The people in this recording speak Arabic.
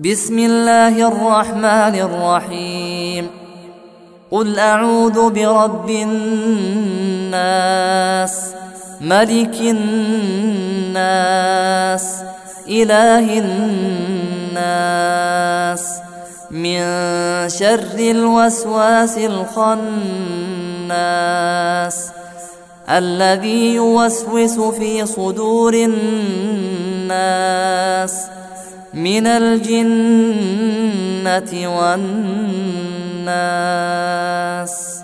بسم الله الرحمن الرحيم. قل أعوذ برب الناس، ملك الناس، إله الناس، من شر الوسواس الخناس، الذي يوسوس في صدور الناس من الجنة والناس.